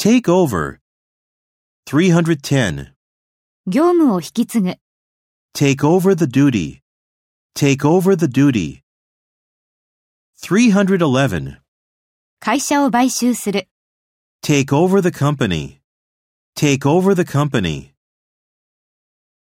Take over. 310. 業務を引き継ぐ。 Take over the duty. Take over the duty. 311. 会社を買収する。 Take over the company. Take over the company.